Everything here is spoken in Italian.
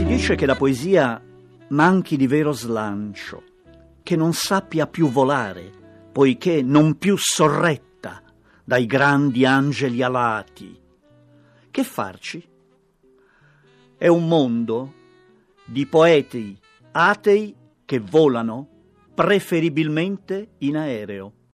Si dice che la poesia manchi di vero slancio, che non sappia più volare, poiché non più sorretta dai grandi angeli alati. Che farci? È un mondo di poeti atei che volano preferibilmente in aereo.